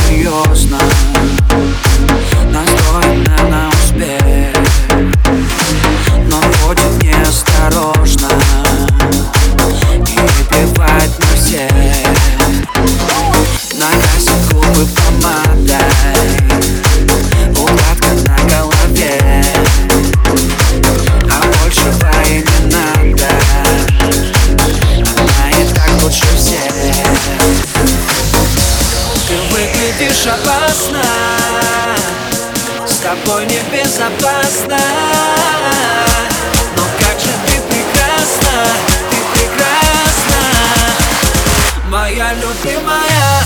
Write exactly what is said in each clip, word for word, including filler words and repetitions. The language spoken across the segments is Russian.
серьезно, настроена на успех, но ходит неосторожно и плевать на всех. Накрасит губы помадой, укладка на голове, а большего и не надо. Она и так лучше всех. Ты выглядишь опасно, с тобой небезопасно. Но как же ты прекрасна, ты прекрасна, моя любимая.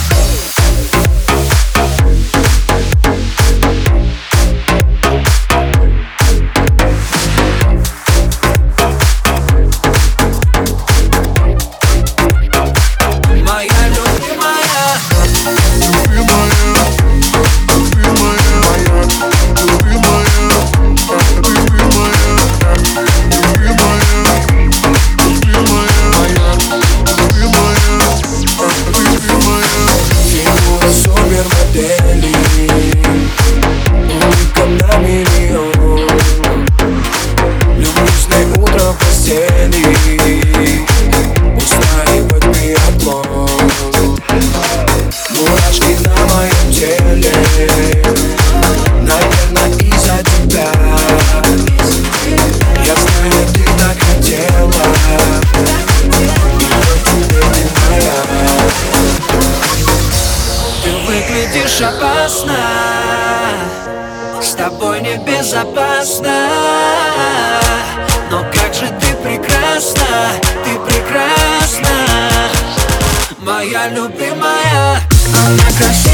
Устраивать биатлон, мурашки на моем теле, наверное, из-за тебя. Я знаю, ты так хотела, и тебе не моя. Ты выглядишь опасно, с тобой небезопасно. Но как же ты прекрасна, ты прекрасна, моя любимая. Она красивая.